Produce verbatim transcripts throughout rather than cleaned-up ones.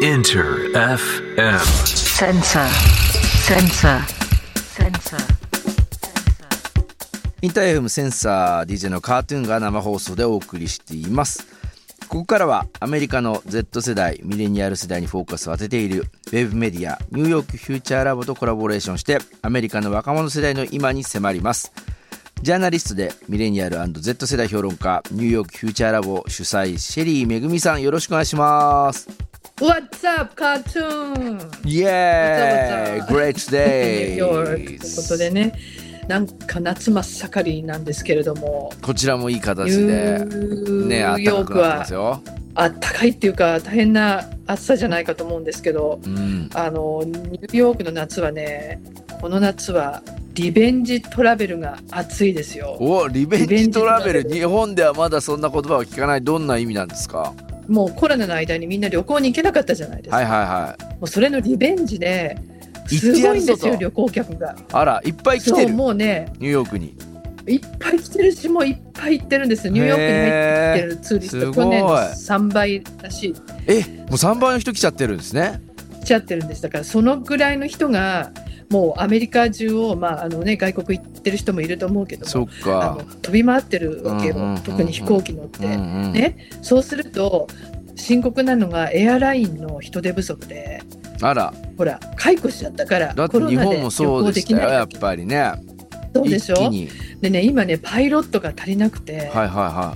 Inter エフエム Sensor Sensor Sensor インター エフエム センサー ディージェー のカートゥーンが生放送でお送りしています。ここからはアメリカの Z 世代ミレニアル世代にフォーカスを当てているウェブメディアニューヨークフューチャーラボとコラボレーションしてアメリカの若者世代の今に迫ります。ジャーナリストでミレニアル& Z 世代評論家ニューヨークフューチャーラボ主催シェリーめぐみさん、よろしくお願いします。 What's up, cartoon? イエーイ What's up, Great day ニューヨークということでね、なんか夏真っ盛りなんですけれども、 こちらもいい形でね、暖かくなってますよ。 あったかいっていうか大変な暑さじゃないかと思うんですけど、うん、あのニューヨークの夏はね、この夏はリベンジトラベルが暑いですよ。 お、リベンジトラベル、日本ではまだそんな言葉を聞かない。どんな意味なんですか？ もうコロナの間にみんな旅行に行けなかったじゃないですか。 はいはいはい。 もうそれのリベンジですごいんですよ、旅行客が。あら、いっぱい来てる。 そう、もうね、 ニューヨークにいっぱい来てるし、もういっぱい行ってるんですよ。ニューヨークに入ってきてるツーリスト、去年のさんばいらしい。 え、もうさんばいの人来ちゃってるんですね。 来ちゃってるんです。だからそのぐらいの人がもうアメリカ中を、まああのね、外国行ってる人もいると思うけども、 そっか、 あの飛び回ってるわけよ、うんうんうんうん、特に飛行機乗って、うんうん、ね、そうすると深刻なのがエアラインの人手不足で、 あら、 ほら解雇しちゃったから、 だって日本もそうでしたよ、やっぱりね。 そうでしょ。でね、今ね、パイロットが足りなくて、 はいはいはい、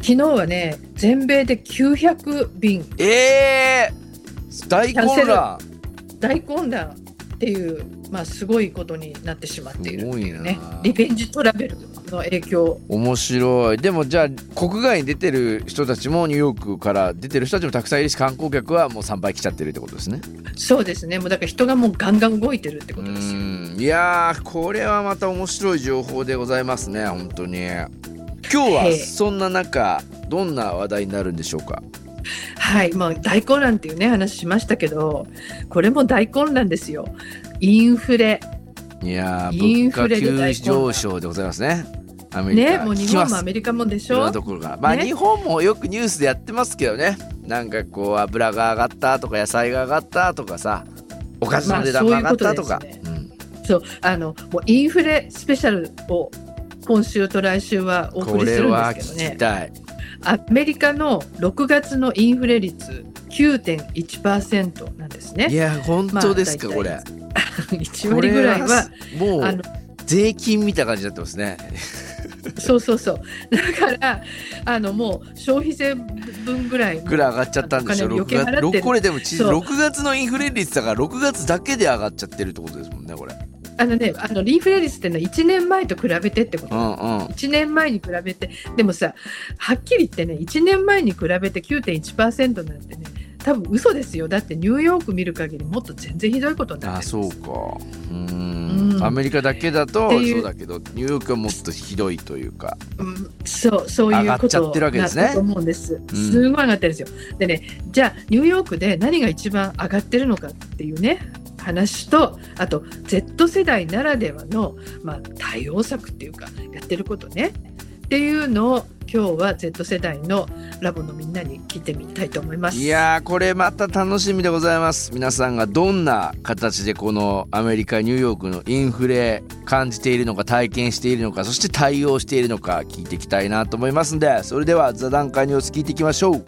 昨日はね、全米できゅうひゃくびん、 えー、大混乱大混乱っていう、まあ、すごいことになってしまっている、ね、 すごいな。 リベンジトラベルの影響。 面白い。でもじゃあ国外に出てる人たちも、ニューヨークから出てる人たちもたくさんいるし、観光客はもうさんばい来ちゃってるってことですね。 そうですね。もうだから人がもうガンガン動いてるってことですよ。 うん、いやー、これはまた面白い情報でございますね、本当に。今日はそんな中どんな話題になるんでしょうか？ はい、まあ、大混乱っていうね話しましたけど、これも大混乱ですよ。インフレ。 いやー、物価急上昇でございますね、アメリカ。 ね、もう日本もアメリカもでしょ。いろんなところが、まあ、ね、日本もよくニュースでやってますけどね。なんかこう油が上がったとか野菜が上がったとかさ、おかずの値段が上がったとか、まあ、そういうことですね。うん、そう、あのもうインフレスペシャルを今週と来週はお送りするんですけどね。これは聞きたい。アメリカのろくがつのインフレ率 きゅうてんいちパーセント なんですね。 いや本当ですか、まあ、これいちわりぐらいはもう税金みたいな感じになってますね。 そうそうそう。だからあのもう消費税分ぐらいぐらい上がっちゃったんでしょ。ろくがつ、これでもろくがつのインフレ率だからろくがつだけで上がっちゃってるってことですもんね、これ。 あのね、あのインフレ率っていうのはいちねんまえと比べてってこと、うんうん、いちねんまえに比べて。でもさ、はっきり言ってね、いちねんまえに比べて きゅうてんいちパーセント なんてね、多分嘘ですよ。だってニューヨーク見る限りもっと全然ひどいことになってるんです。 あ、そうか。うーん、アメリカだけだとそうだけど、ニューヨークはもっとひどいというか、 うん、そうそういうことになったと思うんです。すごい上がってるんですよ。でね、じゃあニューヨークで何が一番上がってるのかっていうね話と、あと Z 世代ならではの、まあ、対応策っていうかやってることねっていうのを今日は Z 世代のラボのみんなに聞いてみたいと思います。 いやー、これまた楽しみでございます。皆さんがどんな形でこのアメリカニューヨークのインフレ感じているのか、体験しているのか、そして対応しているのか聞いていきたいなと思いますので、それでは座談会ニュース聞いていきましょう。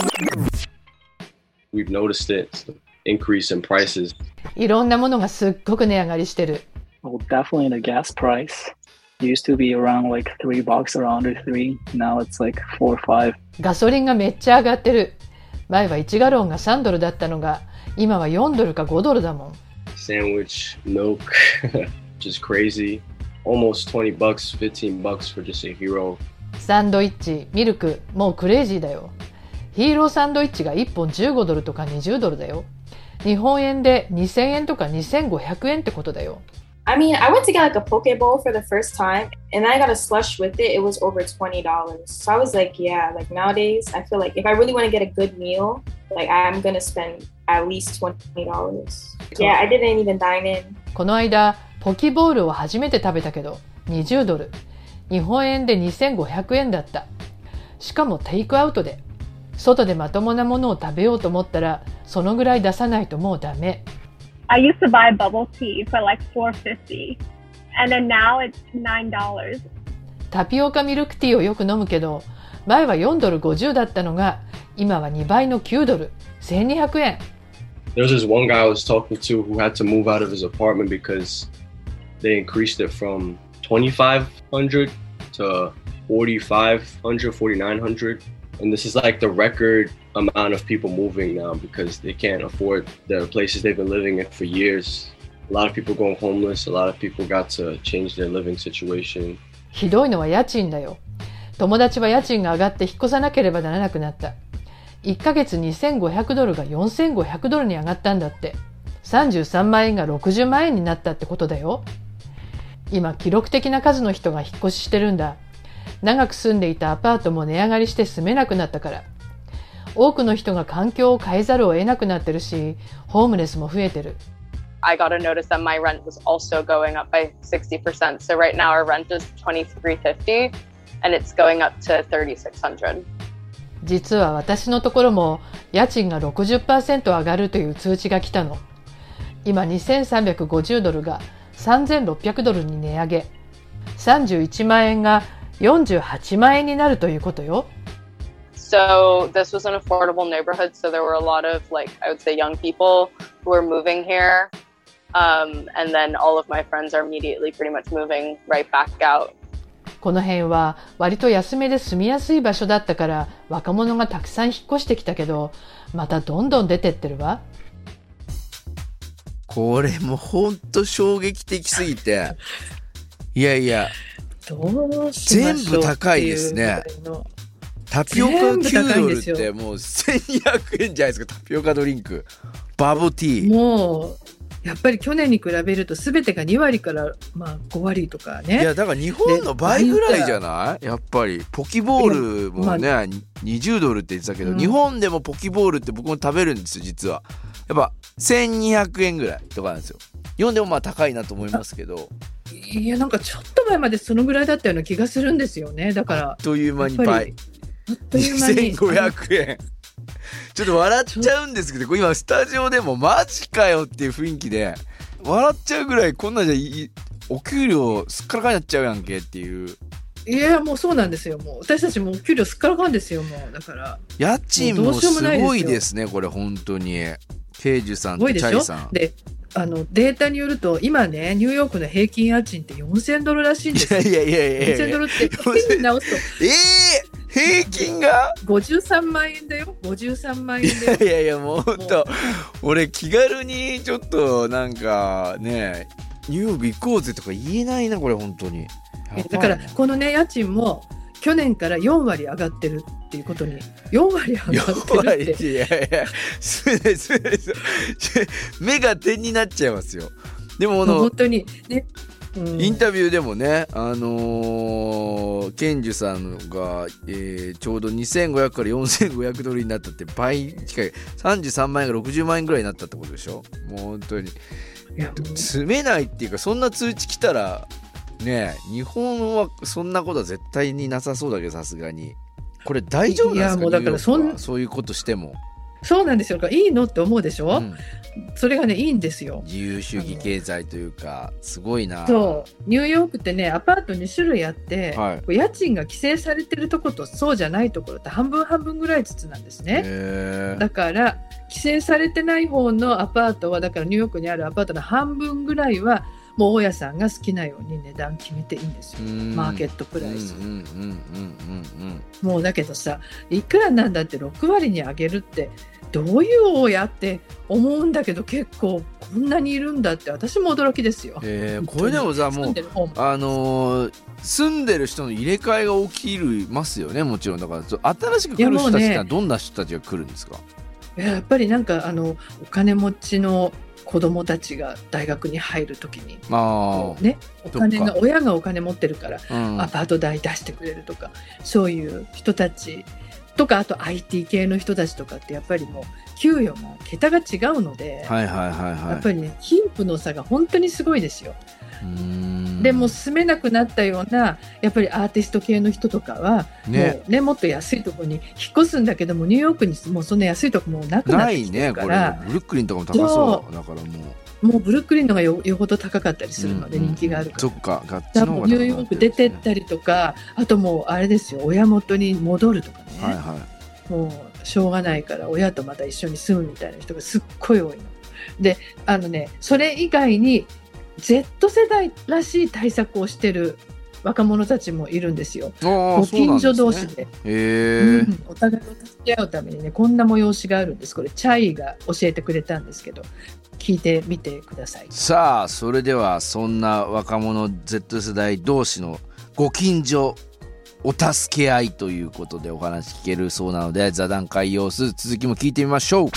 We've noticed it increase in prices. いろんなものがすっごく値上がりしてる。 Well, definitely the gas price. Used to be around like three bucks or under three. Now it's like four or five. ガソリンがめっちゃ上がってる。前はいちガロンがさんドルだったのが、今はよんドルかごドルだもん。 Sandwich, milk, just crazy. Almost twenty bucks, fifteen bucks for just a hero. サンドイッチ、ミルク、もうクレイジーだよ。ヒーローサンドイッチがいっぽんじゅうごドルとかにじゅうドルだよ。日本円でにせんえんとかにせんごひゃくえんってことだよ。 I mean, I went to get like a poke bowl for the first time and I got a slush with it. It was over twenty dollars. So I was like, yeah, like nowadays, I feel like if I really want to get a good meal, like I'm going to spend at least twenty dollars. Yeah, I didn't even dine in. この間、ポキボールを初めて食べたけど、にじゅうドル。日本円でにせんごひゃくえんだった。しかもテイクアウトで。 外でまともなものを食べようと思ったらそのぐらい出さないともうダメ。 I used to buy bubble tea for like four fifty and then now it's nine dollars. タピオカミルクティーをよく飲むけど前はよんドルごじゅうだったのが今はにばいのきゅうドル、せんにひゃくえん。 There was this one guy I was talking to who had to move out of his apartment because they increased it from twenty-five hundred to forty-five hundred, forty-nine hundred. And this is like the record amount of people moving now because they can't afford the places they've been living in for years. A lot of people going homeless. A lot of people got to change their living situation. ひどいのは家賃だよ。友達は家賃が上がって引っ越さなければならなくなった。いっかげつにせんごひゃくドルがよんせんごひゃくドルに上がったんだって。さんじゅうさんまんえんがろくじゅうまんえんになったってことだよ。今記録的な数の人が引っ越ししてるんだ。長く住んでいたアパートも値上がりして住めなくなったから。多くの人が環境を変えざるを得なくなってるし、ホームレスも増えてる。 I got a notice that my rent was also going up by sixty percent. So right now our rent is twenty-three fifty and it's going up to thirty-six hundred. 実は私のところも家賃が ろくじゅっパーセント 上がるという通知が来たの。今にせんさんびゃくごじゅうドルがさんぜんろっぴゃくドルに値上げ。さんじゅういちまんえんがよんじゅうはちまんえんになるということよ。 So this was an affordable neighborhood, so there were a lot of, like, I would say young people who were moving here, um, and then all of my friends are immediately pretty much moving right back out. この辺は割と安めで住みやすい場所だったから若者がたくさん引っ越してきたけど、またどんどん出てってるわ。 これもほんと衝撃的すぎて、いやいや、 どうしましょう全部高いですね。タピオカきゅうドルってもうせんにひゃくえんじゃないですか。タピオカドリンク、バボティー。 もうやっぱり去年に比べると全てがにわりからまあごわりとかね。 いやだから日本の倍ぐらいじゃない？やっぱりポキボールもね、まあ、にじゅうドルって言ってたけど、うん、日本でもポキボールって僕も食べるんですよ実は。やっぱせんにひゃくえんぐらいとかなんですよ。日本でもまあ高いなと思いますけど。 いやなんかちょっと前までそのぐらいだったような気がするんですよね。だからあっという間に倍。あっという間ににせんごひゃくえん。ちょっと笑っちゃうんですけど、今スタジオでもマジかよっていう雰囲気で笑っちゃうぐらい、こんなんじゃいお給料すっからかになっちゃうやんけっていう。 いやもうそうなんですよ。もう私たちもお給料すっからかんですよ。もうだから家賃もすごいですね。これ本当にケイジュさんとチャイさんで、あのデータによると今ねニューヨークの平均家賃ってよんせんドルらしいんですよ。 いやいやいやいやよんせんドルって円に直すとえー平均がごじゅうさんまんえんだよ。ごじゅうさんまんえんだよ。 いやいやもうほんと俺気軽にちょっとなんかねニューヨーク行こうぜとか言えないなこれ本当に。 だからこのね家賃も去年からよんわり上がってるっていうことによんわり上がってるって。 いやいやすねすねす目が点になっちゃいますよ。でもこの本当にね。 インタビューでもね、あのー、ケンジュさんが、えー、ちょうどにせんごひゃくからよんせんごひゃくドルになったって倍近いさんじゅうさんまんえんがろくじゅうまんえんぐらいになったってことでしょ。もう本当に住めないっていうか、そんな通知来たらね、日本はそんなことは絶対になさそうだけど、さすがにこれ大丈夫なんですか。いやもうだからそんそういうことしてもそうなんですよ。いいのって思うでしょ、うん、それがねいいんですよ。 自由主義経済というかすごいな。 そうニューヨークってねアパートに種類あって、はい、家賃が規制されてるところとそうじゃないところって半分半分ぐらいずつなんですね。だから規制されてない方のアパートはだからニューヨークにあるアパートの半分ぐらいはもう大家さんが好きなように値段決めていいんですよ。マーケットプライス。もうだけどさいくらなんだってろくわりに上げるってどういう大家って思うんだけど、結構こんなにいるんだって私も驚きですよ。 えー、これでもさもうあのー、住んでる人の入れ替えが起きるますよね。もちろんだから新しく来る人たちってどんな人たちが来るんですか。 いや、やっぱりなんかあのお金持ちの子供たちが大学に入るときに、あ、ね、お金が親がお金持ってるから、うん、アパート代出してくれるとかそういう人たちとか、あと アイティー 系の人たちとかってやっぱりもう給与が桁が違うので、 はいはいはいはい、 やっぱりね貧富の差が本当にすごいですよ。 うーんでも住めなくなったようなやっぱりアーティスト系の人とかは、ね、もうねもっと安いところに引っ越すんだけども、ニューヨークにもうそんな安いところもなくなってきてるから、 ないね、これブルックリンとかも高そうだから、もうもうブルックリンのが よ, よほど高かったりするので、人気があるから、 うんうん、そっか、ガッチの方が高かったりする、ニューヨーク出てったりとか、あともうあれですよ、親元に戻るとかね、 はいはい、 もうしょうがないから親とまた一緒に住むみたいな人がすっごい多いので、あのねそれ以外に Z 世代らしい対策をしてる若者たちもいるんですよ。ご近所同士 で, で、ねへうん、お互いを助け合うためにね、こんな催しがあるんです。これチャイが教えてくれたんですけど、聞いてみてください。 さあ、それではそんな若者 Z 世代同士のご近所お助け合いということでお話聞けるそうなので、座談会様子続きも聞いてみましょう。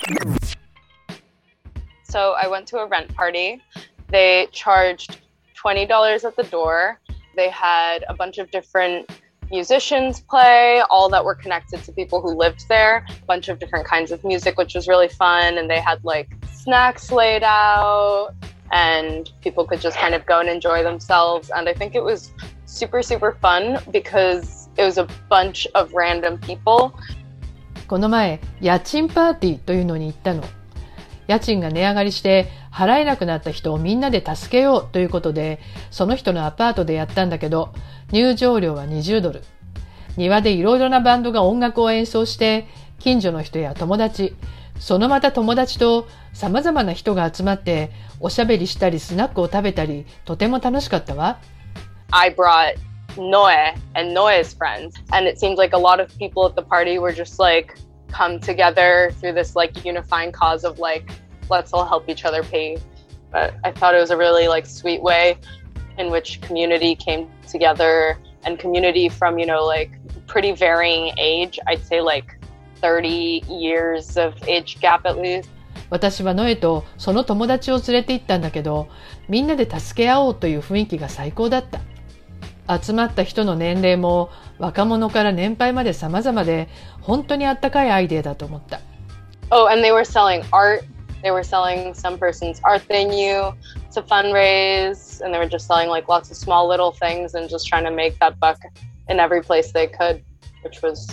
So I went to a rent party. They charged twenty dollars at the door. They had a bunch of different musicians play, all that were connected to people who lived there, a bunch of different kinds of music, which was really fun. And they had like snacks laid out and people could just kind of go and enjoy themselves. And I think it was super, super fun because it was a bunch of random people. この前、家賃パーティーというのに行ったの。家賃が値上がりして払えなくなった人をみんなで助けようということで、その人のアパートでやったんだけど、入場料はにじゅうドル。庭でいろいろなバンドが音楽を演奏して、近所の人や友達、そのまた友達と様々な人が集まっておしゃべりしたりスナックを食べたり、とても楽しかったわ。 I brought Noe and Noe's friends, and it seemed like a lot of people at the party were just like come together through this like unifying cause of like let's all help each other pay. But I thought it was a really like sweet way in which community came together, and community from, you know, like pretty varying age. I'd say like thirty years of age gap at least. 私はノエとその友達を連れて行ったんだけど、みんなで助け合おうという雰囲気が最高だった。集まった人の年齢も若者から年配まで様々で、本当にあったかいアイデアだと思った。 Oh, and they were selling art. They were selling some person's art they knew to fundraise, and they were just selling like lots of small little things and just trying to make that buck in every place they could, which was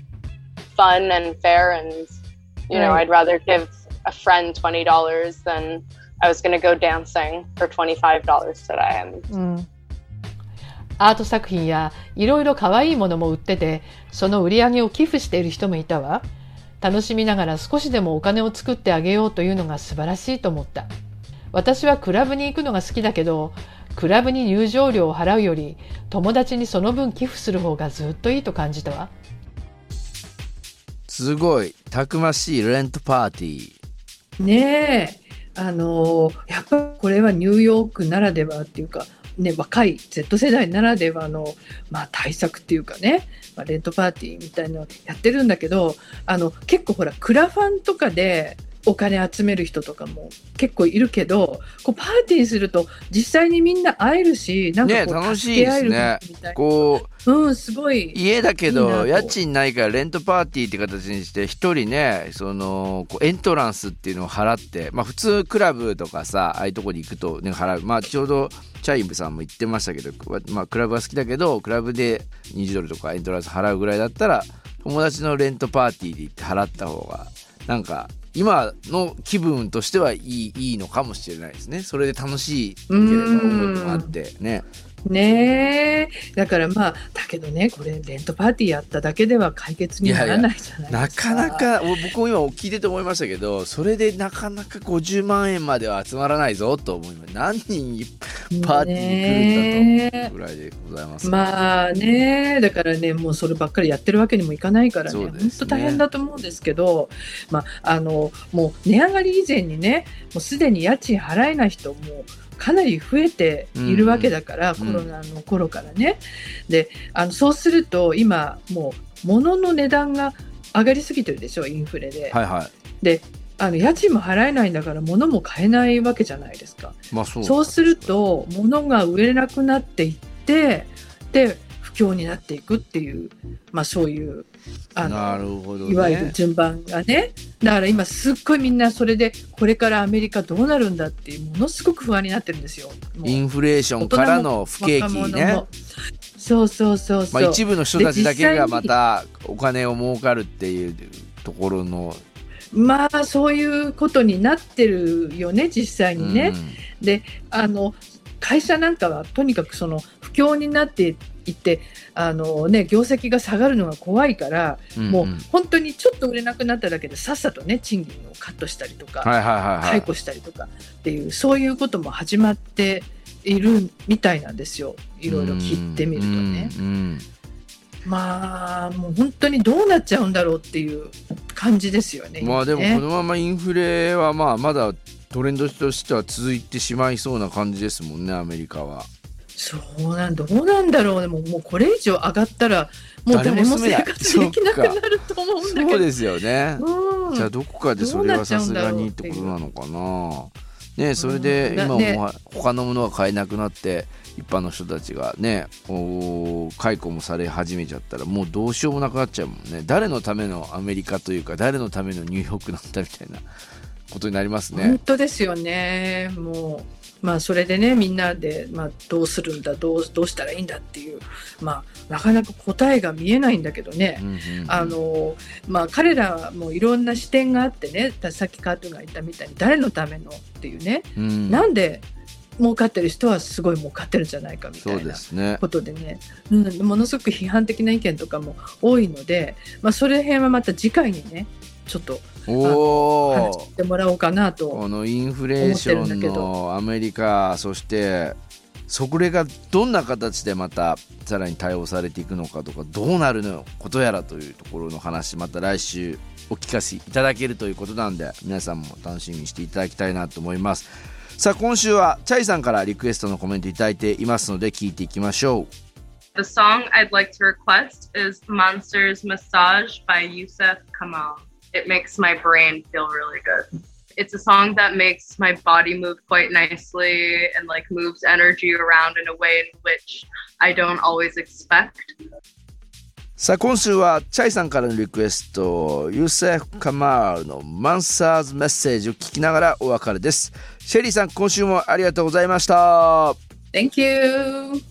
fun and fair. And, you know, I'd rather give a friend twenty dollars than I was going to go dancing for twenty-five dollars today. And, うん、アート作品やいろいろ可愛いものも売ってて、その売り上げを寄付している人もいたわ。楽しみながら少しでもお金を作ってあげようというのが素晴らしいと思った。私はクラブに行くのが好きだけど、クラブに入場料を払うより友達にその分寄付する方がずっといいと感じたわ。 すごいたくましいレントパーティーねえ、あのやっぱりこれはニューヨークならではっていうかね、若い Z 世代ならではの、まあ、対策っていうかね、まあ、レントパーティーみたいなのやってるんだけど、あの結構ほらクラファンとかでお金集める人とかも結構いるけど、こうパーティーすると実際にみんな会えるし、なんかこう、ね、助け合えるみたいな、ね、こう、うん、すごい家だけど家賃ないからレントパーティーって形にして一人ね、そのこうエントランスっていうのを払って、まあ普通クラブとかさ、ああいうとこに行くと、ね、払う。まあちょうどチャイブさんも言ってましたけど、まあクラブは好きだけどクラブでにじゅうドルとかエントランス払うぐらいだったら、友達のレントパーティーで行って払った方がなんか今の気分としてはいい、いいのかもしれないですね。それで楽しいければ思いもあってね。 ねえ、だからまあだけどね、これレントパーティーやっただけでは解決にならないじゃないですか。 いやいや、なかなか僕も今聞いてて思いましたけど、それでなかなかごじゅうまんえんまでは集まらないぞと思います。何人パーティーに来るんだとぐらいでございます、ね、 まあね、だからね、もうそればっかりやってるわけにもいかないからね、本当、ね、大変だと思うんですけど、まあ、あのもう値上がり以前にね、もうすでに家賃払えない人もかなり増えているわけだから、うん、コロナの頃からね、うん、であのそうすると今もう物の値段が上がりすぎてるでしょ、インフレで、 はいはい、 であの家賃も払えないんだから物も買えないわけじゃないですか、 まあ、そうそうすると物が売れなくなっていって、で不況になっていくっていう、まあ、そういうあのなるほどね、 いわゆる順番がね。だから今すっごいみんなそれでこれからアメリカどうなるんだっていうものすごく不安になってるんですよ。 インフレーションからの不景気ね。 そうそうそうそう、 まあ、一部の人たちだけがまたお金を儲かるっていうところのまあそういうことになってるよね実際にね、うん、であの会社なんかはとにかくその不況になっていってあの、ね、業績が下がるのが怖いから、うんうん、もう本当にちょっと売れなくなっただけでさっさとね賃金をカットしたりとか、はいはいはいはい、解雇したりとかっていうそういうことも始まっているみたいなんですよ。いろいろ聞いてみるとね、うんうん、まあもう本当にどうなっちゃうんだろうっていう感じですよね。 まあでもこのままインフレはまあまだトレンドとしては続いてしまいそうな感じですもんねアメリカは。 そうなんどうなんだろうね。もう、もうこれ以上上がったらもう誰も生活できなくなると思うんだけど。 そうですよね、うん、じゃあどこかでそれはさすがにってことなのかなね。それで今も他のものが買えなくなって一般の人たちがね解雇もされ始めちゃったらもうどうしようもなくなっちゃうもんね。誰のためのアメリカというか誰のためのニューヨークなんだみたいなことになりますね。 本当ですよね。もうまあそれでねみんなで、まあ、どうするんだどう、どうしたらいいんだっていう、まあ、なかなか答えが見えないんだけどね、うんうんうん、あのまあ、彼らもいろんな視点があってねさっきカートゥンが言ったみたいに誰のためのっていうね、うん、なんで儲かってる人はすごい儲かってるんじゃないかみたいなことでね、うん、ものすごく批判的な意見とかも多いので、まあ、それ辺はまた次回にねちょっとお話してもらおうかなと思ってるんだけど、 このインフレーションのアメリカそしてそれがどんな形でまたさらに対応されていくのかとかどうなるのことやらというところの話また来週お聞かせいただけるということなんで皆さんも楽しみにしていただきたいなと思います。さあ今週はチャイさんからリクエストのコメントいただいていますので聞いていきましょう。 The song I'd like to request is Monsters Massage by Yusef Kamal. It makes my brain feel really good. It's a song that makes my body move quite nicely and like moves energy around in a way in which I don't always expect. さあ今週はチャイさんからのリクエストユーセフ・カマールのマンサーズメッセージを聞きながらお別れです。シェリーさん今週もありがとうございました。 Thank you.